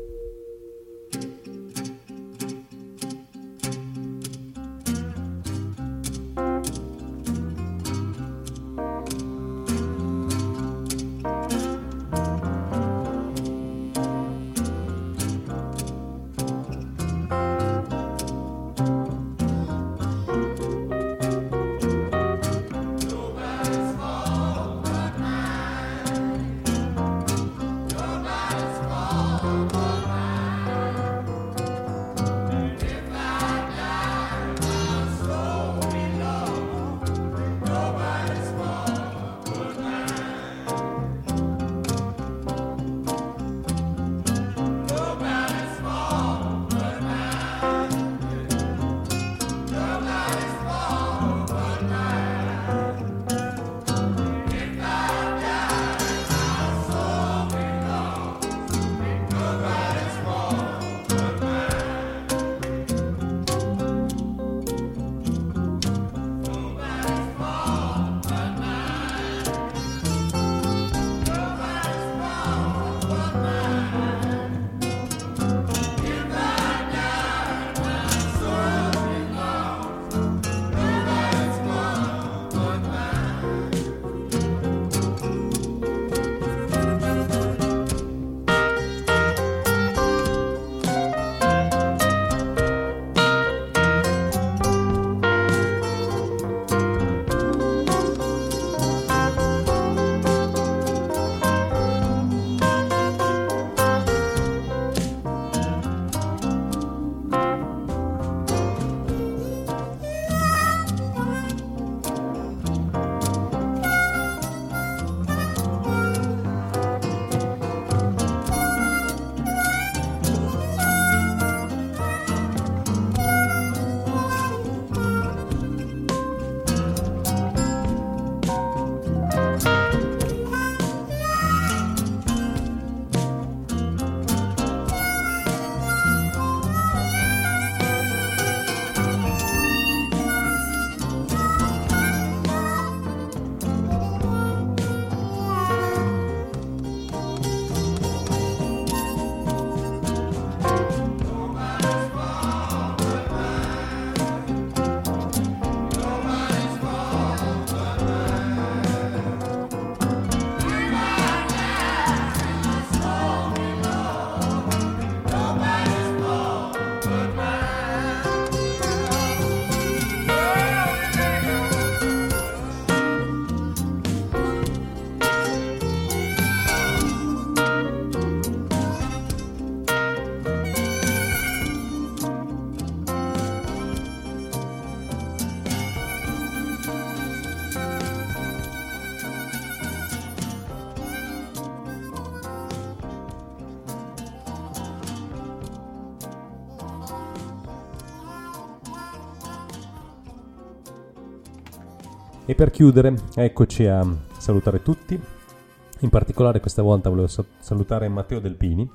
E per chiudere, eccoci a salutare tutti. In particolare questa volta volevo salutare Matteo Delpini,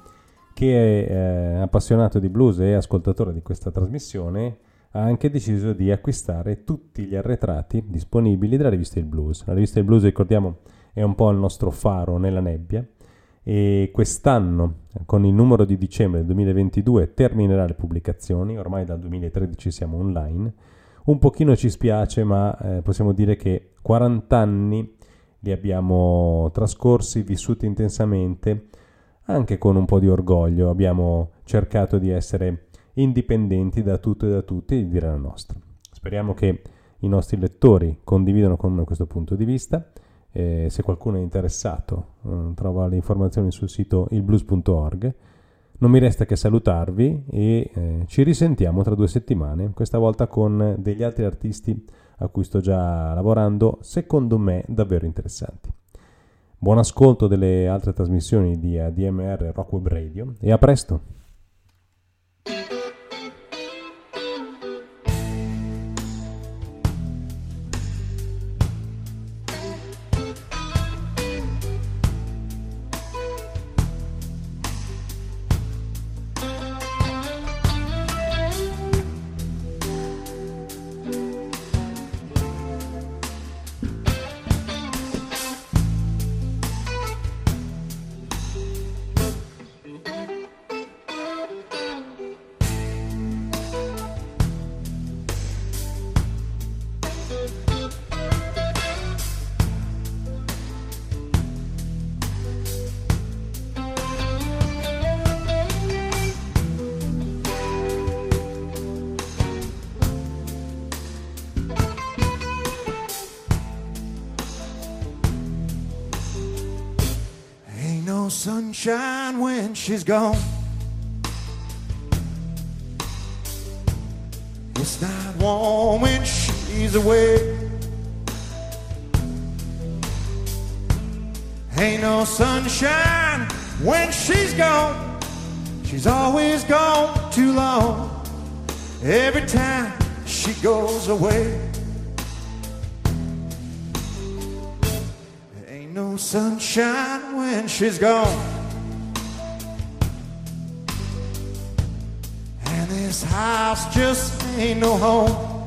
che è appassionato di blues e ascoltatore di questa trasmissione. Ha anche deciso di acquistare tutti gli arretrati disponibili della rivista Il Blues. La rivista Il Blues, ricordiamo, è un po' il nostro faro nella nebbia, e quest'anno, con il numero di dicembre del 2022, terminerà le pubblicazioni. Ormai dal 2013 siamo online. Un pochino ci spiace, ma possiamo dire che 40 anni li abbiamo trascorsi, vissuti intensamente, anche con un po' di orgoglio. Abbiamo cercato di essere indipendenti da tutto e da tutti e di dire la nostra. Speriamo che i nostri lettori condividano con noi questo punto di vista. Se qualcuno è interessato, trova le informazioni sul sito ilblues.org. Non mi resta che salutarvi e ci risentiamo tra 2 settimane, questa volta con degli altri artisti a cui sto già lavorando, secondo me davvero interessanti. Buon ascolto delle altre trasmissioni di ADMR Rock Web Radio e a presto! sunshine when she's gone. It's not warm when she's away. Ain't no sunshine when she's gone. She's always gone too long. Every time she goes away. There ain't no sunshine when she's gone. And this house just ain't no home.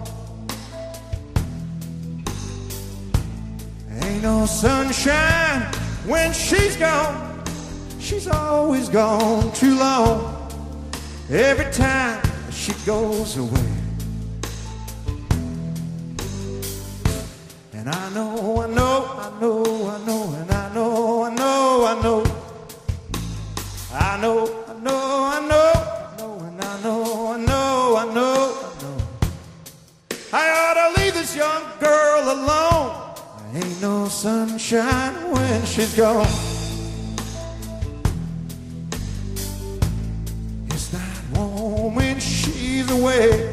Ain't no sunshine when she's gone. She's always gone too long. Every time she goes away. And I know, and I know, and I know, and I know, I know, I know, and I know, and I know, I know. I ought to leave this young girl alone. There ain't no sunshine when she's gone. It's not warm when she's away.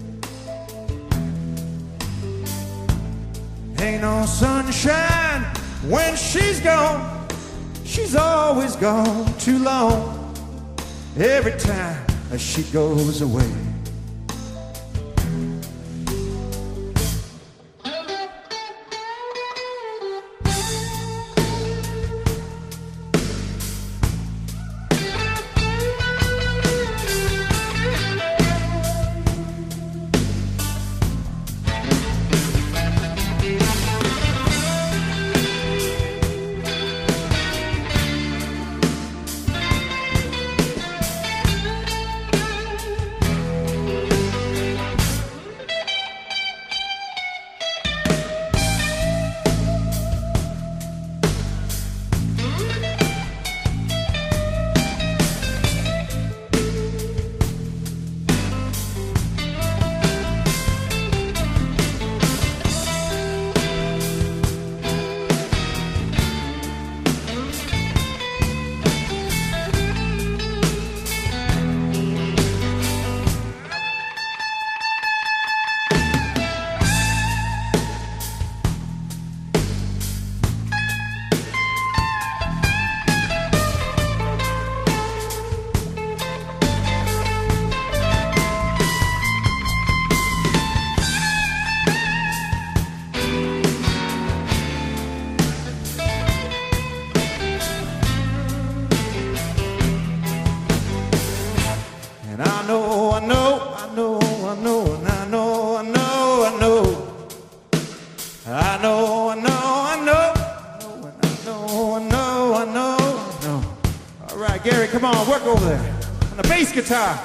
Ain't no sunshine when she's gone. She's always gone too long. Every time she goes away. Guitar.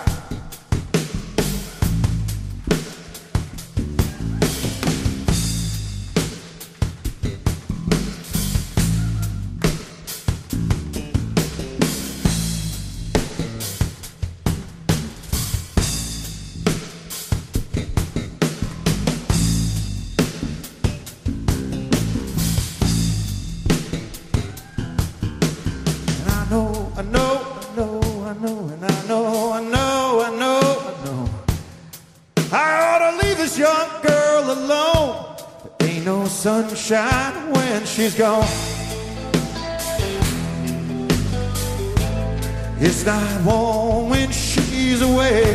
Sunshine when she's gone. It's not warm when she's away.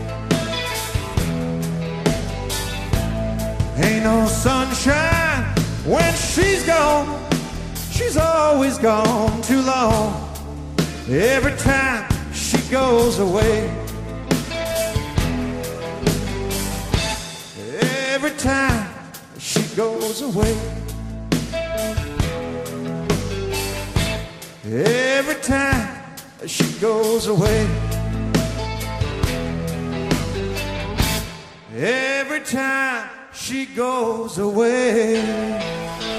Ain't no sunshine when she's gone. She's always gone too long. Every time she goes away. Every time she goes away. Every time she goes away. Every time she goes away.